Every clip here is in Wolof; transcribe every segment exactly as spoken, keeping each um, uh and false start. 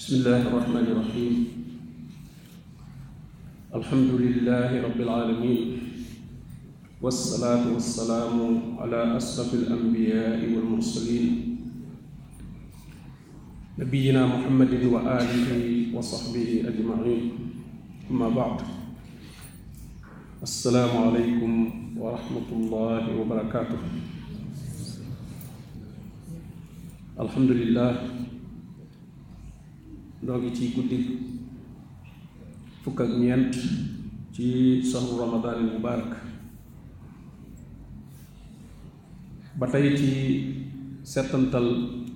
bismillahi irrahmani irrahim alhamdulilahi rabbil alamin wassalaatu wassalaamu ala asrafi alanbiyaai walmursalin nabiyina muhammadin wa alihi wa sahbihi ajmain amma baad assalaamu aleykum wa rahmatullahi wa barakatuh. alhamdulillah noo ngi ci guddi fukk ak ñeent ci sahru ramadan al mubarak ba tey ci settantal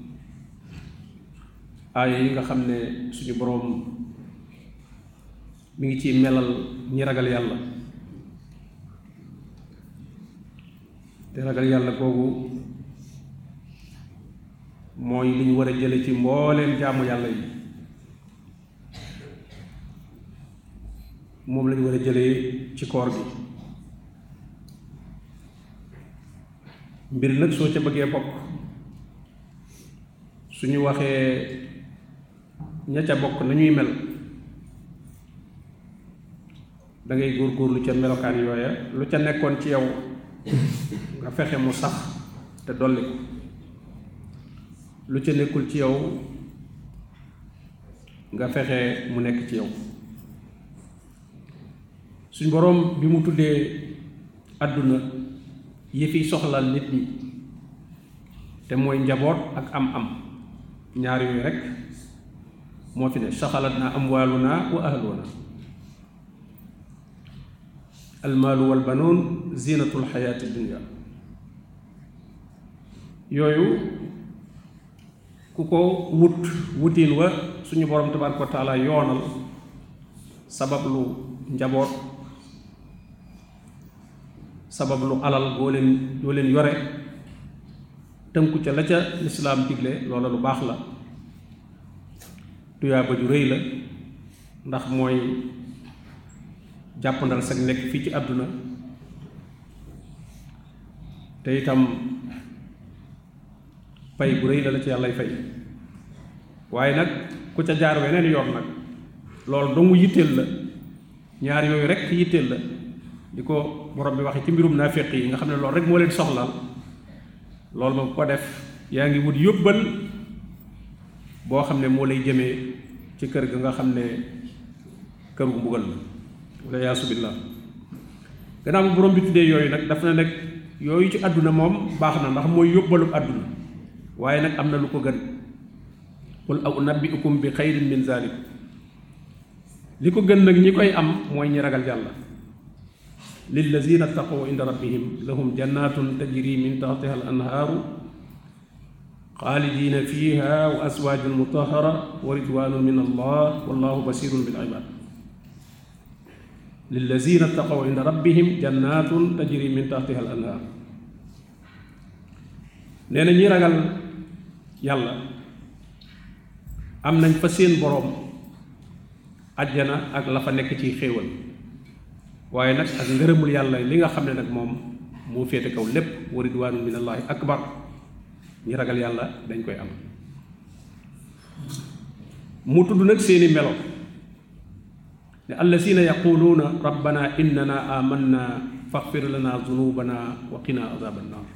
aaya yi nga xam ne suñu boroom mi ngi ci melal ñi ragal yàlla te ragal yàlla googu mooy li ñu war a jële ci mbooleem jaamu yàlla yi moom lañu war a jëlee ci koor gi mbir nag soo ca bëggee bokk suñu waxee ña ca bokk nañuy mel da ngay góorgóorlu ca melokaan yooya lu ca nekkoon ci yow nga fexe mu sax te dolli ko lu ca nekkul ci yow nga fexe mu nekk ci yow. suñ boroom bi mu tuddee àdduna yi fiy soxlaal nit ñi te mooy njaboot ak am-am ñaar yooyu rekk moo fi ne saxalat naa amwaaluna wa ahluna almaalu wal banoon zinatul xayaati dunya yooyu ku ko wut wutiin wa suñu boroom tabaaraka wa taala yoonal sabab lu njaboot sabab lu alal boo leen boo leen yore tënku ca la ca lislaam digle loola lu baax la tuyaaba ju rëy la ndax mooy jàppandal sag nekk fii ci àdduna te itam pay bu rëy la la ci yàllay fay waaye nag ku ca jaar weneen yoon nag loolu dong yitteel la ñaar yooyu rek yitteel la di ko borom bi waxe ci mbirum naafiq yi nga xam ne loolu rek moo leen soxlaal loolu moom ko def yaa ngi wut yóbbal boo xam ne moo lay jëmee ci kër ga nga xam ne kër gu mbugal la wala yaasu billah gannaaw bu borom bi tuddee yooyu nag daf na nag yooyu ci àdduna moom baax na ndax mooy yóbbalu àdduna waaye nag am na lu ko gën qul aw unabbi'ukum bi xayrin min zalik li ko gën nag ñi koy am mooy ñi ragal yàlla lillazina taqaw inda rabbihim lahum jannatun tajri min tahtiha al anhaaru xaalidina fiha wa aswaajun mutahara wa ridwanun min allah wallahu basirun bil ibad lillazina taqaw inda rabbihim jannatun tajri min tahtiha al anhaar nee na ñi ragal yàlla am nañ fa seen boroom ajjana ak la fa nekk ci xéewal waaye nag ak ngërëmul yàlla li nga xam ne nag moom moo féete kaw lépp wa ridwaanu minallaahi akbar ñi ragal yàlla dañ koy am mu tudd nag seeni melo ne allazina yaquluuna rabbana innana amanna faghfir lana zunubana wa qina azaban naar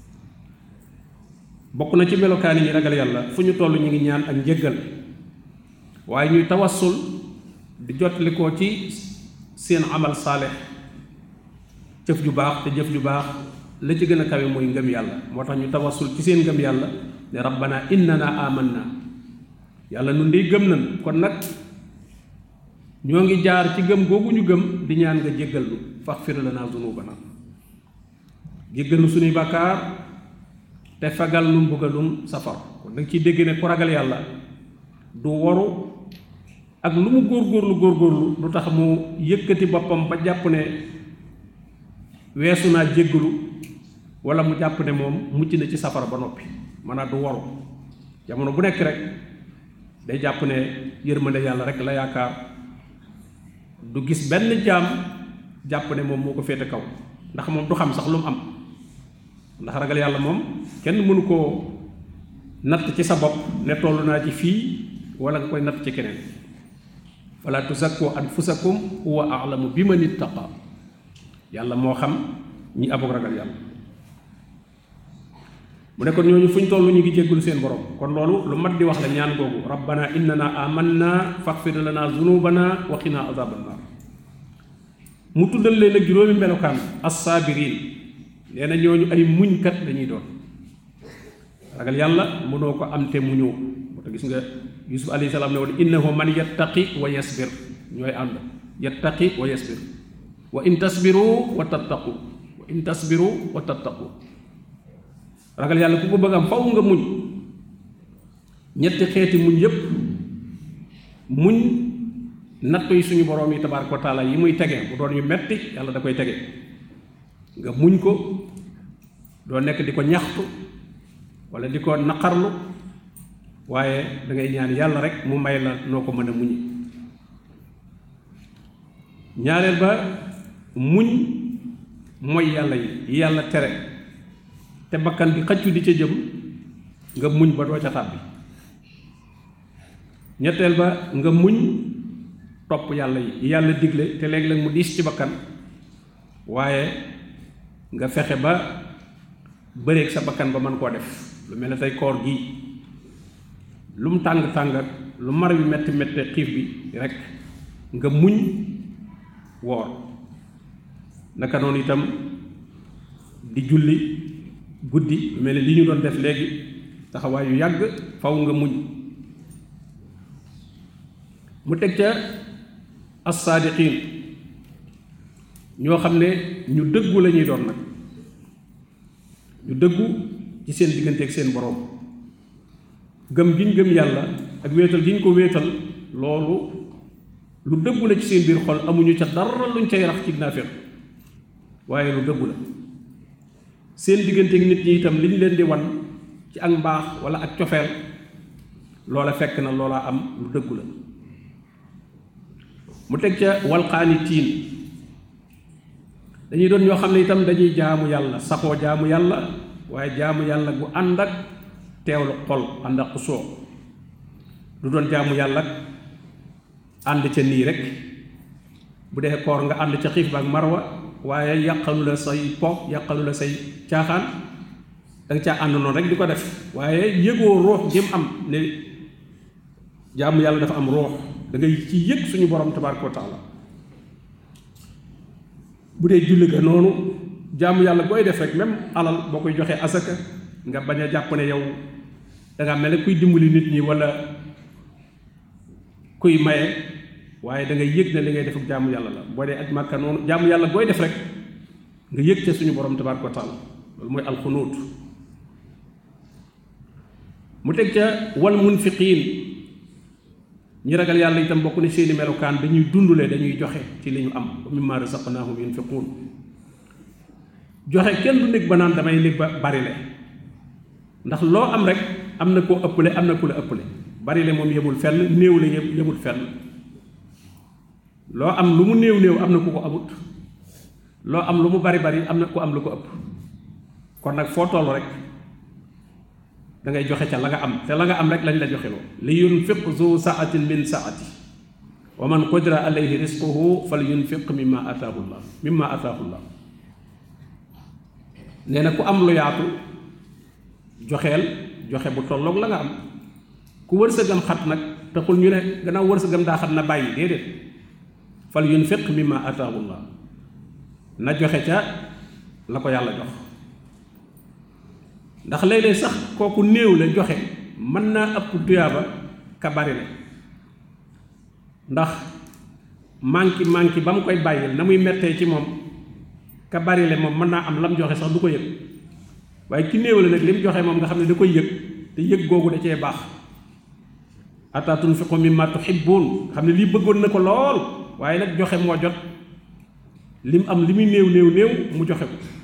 bokk na ci melokaani ñi ragal yàlla fu ñu toll ñu ngi ñaan ak njëggal waaye ñuy tawassul di jotli ko ci seen amal saalix jëf ju baax te jëf ju baax la ci gën a kawe mooy ngëm yàlla moo tax ñu tawassul ci seen ngëm yàlla ne rabbana innana amanna yàlla nun dey gëm nan kon nag ñoo ngi jaar ci gëm googu ñu gëm di ñaan nga jéggal nu faghfir lana zunubana jéggal nu suñuy bàkkaar te fagal nu mbugalum safar kon danga ciy dégg ne ku ragal yàlla du waru ak lu mu góorgóorlu góorgóorlu lu tax mu yëkkati boppam ba jàpp ne weesu naa jéggalu wala mu jàpp ne moom mucc na ci safara ba noppi maanaam du waru jamono bu nekk rek day jàpp ne yërmande yàlla rek la yaakaar du gis benn jaam jàpp ne moom moo ko féete kaw ndax moom du xam sax lu mu am ndax ragal yàlla moom kenn mënu koo natt ci sa bopp ne toll naa ci fii wala nga koy natt ci keneen wala tuzakku anfusakum huwa a'lamu biman ittaqa yàlla moo xam ñi abog ragal yàlla mu ne kon ñooñu fu ñu toll ñu ngi jéggulu seen borom kon loolu lu mat di wax la ñaan googu rabbana innana amanna faghfir lana zunubana wa qina azaban nar mu tuddal leen ak juróomi melokaan as-saabiriin nee na ñooñu ay muñkat dañuy doon ragal yàlla mënoo ko am te muñoo moo tax gis nga yusuf alayhi salaam ne woon innahu man yattaqi wa yasbir ñooy ànd yattaqi wa yasbir wa in tasbiru wa tattaqu wa in tasbiru wa tattaqu ragal yàlla ku ko bëgg am faw nga muñ ñetti xeeti muñ yépp muñ nattu yi suñu borom yi tabaaraka wa taala yi muy tege bu doon yu metti yàlla da koy tege nga muñ ko doo nekk di ko ñaxtu wala di ko naqarlu waaye da ngay ñaan yàlla rek mu may la noo ko mën a muñi ñaareel ba muñ mooy yàlla yi yàlla tere te bakkan bi xëccu di ca jëm nga muñ ba doo ca tàbbi ñetteel ba nga muñ topp yàlla yi yàlla digle te léeg-léeg mu diis ci bakkan waaye nga fexe ba bëreeg sa bakkan ba mën koo def lu mel ne tey koor gi lu mu tàng tàng ak lu mar wi metti metti xiif bi rek nga muñ woor naka noonu itam di julli guddi lu mel ne li ñu doon def léegi taxawaay yu yàgg faw nga muñ mu teg ca as-saadiqiin ñoo xam ne ñu dëggu la ñuy doon nag ñu dëggu ci seen diggante ak seen boroom gëm gi ñu gëm yàlla ak wéetal gi ñu ko wéetal loolu lu dëggu la ci seen biir xol amuñu ca dara luñ cay rax ci naafeq waaye lu dëggu la seen diggante ak nit ñi itam li ñu leen di wan ci ak mbaax wala ak cofeel loola fekk na loola am lu dëggu la mu teg ca walqaanitiin dañuy doon ñoo xam ne itam dañuy jaamu yàlla saxoo jaamu yàlla waaye jaamu yàlla gu ànd ak teewlu xol ànd ak xusoo du doon jaamu yàlla ànd ca nii rek bu dee koor nga ànd ca xiif ba ak marwa waaye yàqalu la say po yàqalu la say caaxaan danga caa ànd noonu rek di ko def waaye yëgoo ruux jëm am ne jaamu yàlla dafa am ruux da ngay ci yëg suñu borom tabaaraka wa taala bu dee julli ga noonu jaamu yàlla booy def rek même alal boo koy joxee asaka nga bañ a jàpp ne yow danga mel ne kuy dimbali nit ñi wala kuy maye waaye da ngay yëg ne li ngay def ak jaamu yàlla la boo dee aj màkka noonu jaamu yàlla booy def rek nga yëg ca suñu borom tabaaraka wa taala loolu mooy alxunuut mu teg ca wal munfiqiin ñi ragal yàlla itam bokk ne seeni melokaan dañuy dundule dañuy joxe ci li ñu am wa mimmaa razaqnaahum yunfiquun joxe kenn du nekk ba naan damay nekk ba barile ndax loo am rek am na koo ëppale am na ku la ëppale barile moom yemul fenn néew la yemul fenn loo am lu mu néew néew am na ku ko amut loo am lu mu bari bari am na ku am lu ko ëpp kon nag foo toll rek da ngay joxe ca la nga am te la nga am rek lañ la joxe loo li yunfiq zu saatin min saati wa man qudira alayhi rizquhu fal yunfiq mimma ataahu llah mimma ataahu llah nee na ku am lu yaatu joxeel joxe bu tolloog la nga am ku wërsëgam xat nag taxul ñu ne gannaaw wërsëgam daa xat na bàyyi déedéet fal yunfiq mimma ataahu llah na joxe ca la ko yàlla jox ndax léeg-léeg sax kooku néew la joxe mën naa ëpp tuyaaba ka bari la ndax manki manki ba mu koy bàyyil na muy mettee ci moom ka bari la moom mën naa am lam joxe sax du ko yëg waaye ki néew la nag li mu joxe moom nga xam ne da koy yëg te yëg googu da cee baax hatta tunfiqu mimma tuhibbuun xam ne lii bëggoon na ko lool waaye nag joxe moo jot lim am li muy néew néew néew mu joxe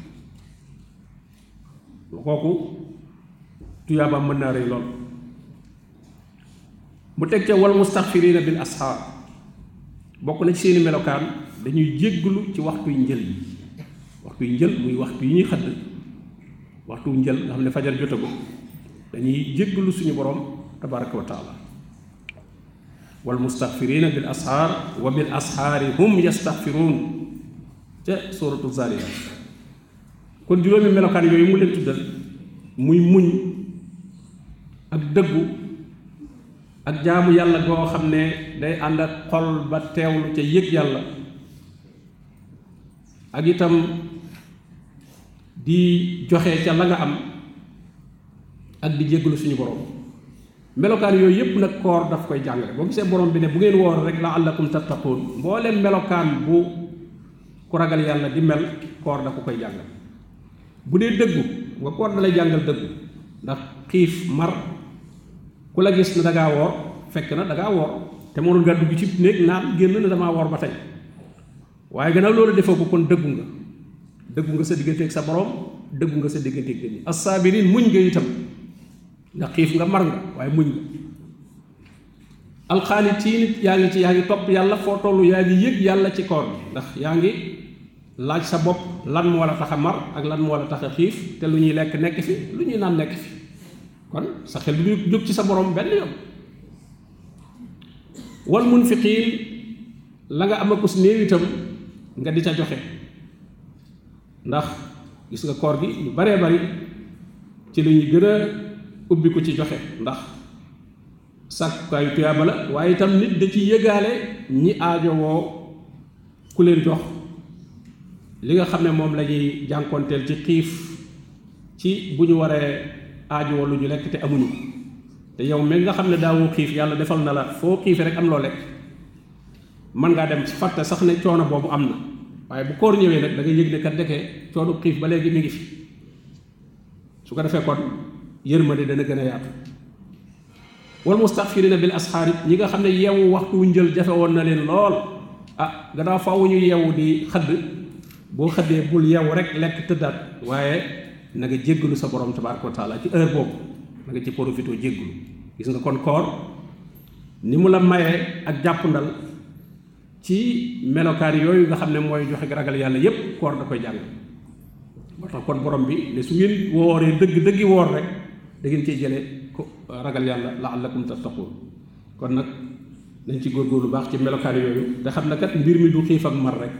ko kooku tuyaabaam mën naa rëy lool mu teg ca wal mustaxfiriina bil asxaar bokk na ci seeni melokaan dañuy jégglu ci waxtuy njël yi waxtuy njël muy waxtu yi ñuy xëdd waxtu njël nga xam ne fajar jotagu dañuy jégglu suñu borom tabaraka wa taala wal mustaghfirina bil ashaar wa bil ashaari hum yastaghfiruun ca suuratu Zaariyaat. kon juróomi melokaan yooyu mu leen tuddal muy muñ ak dëggu ak jaamu yàlla goo xam ne day ànd ak xol ba teewlu ca yëg yàlla, ak itam di joxe ca la nga am ak di jéggalu suñu borom. melokaan yooyu yëpp nag koor daf koy jàngale. boo gisee borom bi ne bu ngeen woor rek la'allakum tattaquun, mbooleem melokaan bu ku ragal yàlla di mel koor da ko koy jàngal. bu dee dëggu nga koor da lay jàngal dëggu, ndax xiif mar ku la gis ne da ngaa woor fekk na da ngaa woor te mënul nga dugg ci néeg naan génn ne damaa woor ba tey, waaye gannaaw loolu defoo ko kon dëggu nga dëggu nga sa digganteeg sa borom, dëggu nga sa digganteeg nit ñi. as-saabiriin muñ nga itam, ndax xiif nga mar nga waaye muñ nga. alxaanitiin yaa ngi ci yaa ngi topp yàlla foo tollu yaa ngi yëg yàlla ci koor bi, ndax yaa ngi laaj sa bopp lan moo la tax a mar ak lan moo la tax a xiif, te lu ñuy lekk nekk fi lu ñuy naan nekk fi, kon sa xel du ñu jóg ci sa borom benn yoon. wal munfiqiin la nga am a kus néew itam nga di ca joxe, ndax gis nga koor gi lu baree bari ci lu ñuy gën a ubbi ko ci joxe, ndax sàkkukaayu tuyaaba la, waaye itam nit da ci yëgaale ñi aajowoo ku leen jox li nga xam ne moom la ñuy jànkoonteel ci xiif, ci bu ñu waree aajowoo lu ñu lekk te amuñu, te yow mi nga xam ne daawoo xiif yàlla defal na la foo xiife rek am loo lekk, mën ngaa dem fàtte sax ne coono boobu am na, waaye bu koor ñëwee nag da ngay yëg ne kat ndeke coono xiif ba léegi mi ngi fi. su ko defee kon yërmande dana gën a yaatu. wal mustaghfirina bil asxaar ñi nga xam ne yeewu waxtu wu njël jafe woon na leen lool, ah gannaaw faaw ñu yeewu di xëdd, boo xëddee bul yeewu rek lekk tëddaat, waaye na nga jéggalu sa borom tabaaraka wa taala ci heure boobu, na nga ci profité jéggalu. gis nga kon koor ni mu la mayee ak jàppandal ci melokaan yooyu nga xam ne mooy joxe ragal yàlla yépp koor da koy jàng. moo tax kon borom bi ne su ngeen wooree dëgg dëggi woor rek da ngeen cee jëlee ko ragal yàlla la'allakum tattaquun. kon nag nañ ci góorgóorlu baax ci melokaan yooyu te xam ne kat mbir mi du xiif ak mar rek.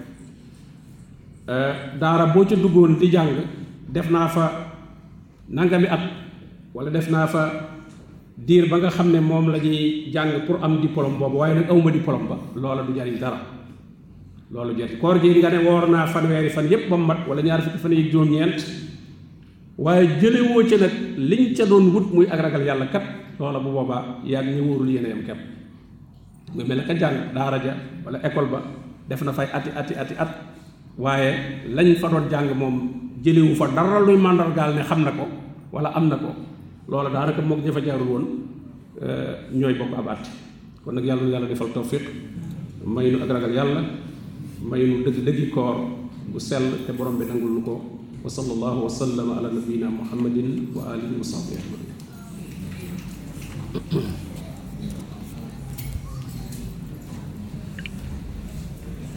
daara boo ca duggoon di jàng def naa fa nangami at wala def naa fa diir ba nga xam ne moom la ñuy jàng pour am diplôme boobu, waaye nag awma diplôme ba, loola du jariñ dara. loolu jot koor gi nga ne woor naa fanweeri fan yépp ba mu mat wala ñaar fukki fan yi juróom-ñeent, waaye jëlewoo ca nag liñ ca doon wut muy ak ragal yàlla kat, loola bu boobaa yaa ngi ñu wóorul yéen a yam kepp. nga mel ne ka jàng daara ja wala école ba def na fay ati ati ati at, waaye lañ fa doon jàng moom jëlewu fa dara luy màndargaal ne xam na ko wala am na ko, loola daanaka moog ña fa jaarul woon ñooy bokk ab at. kon nag yàlla na yàlla defal tawfiq, may nu ak ragal yàlla, may nu dëgg dëggi koor bu sell te borom bi nangul lu ko. wa sallallahu wa sallama ala nabiyyina muhammadin wa alihi wa sahbihi ajmain.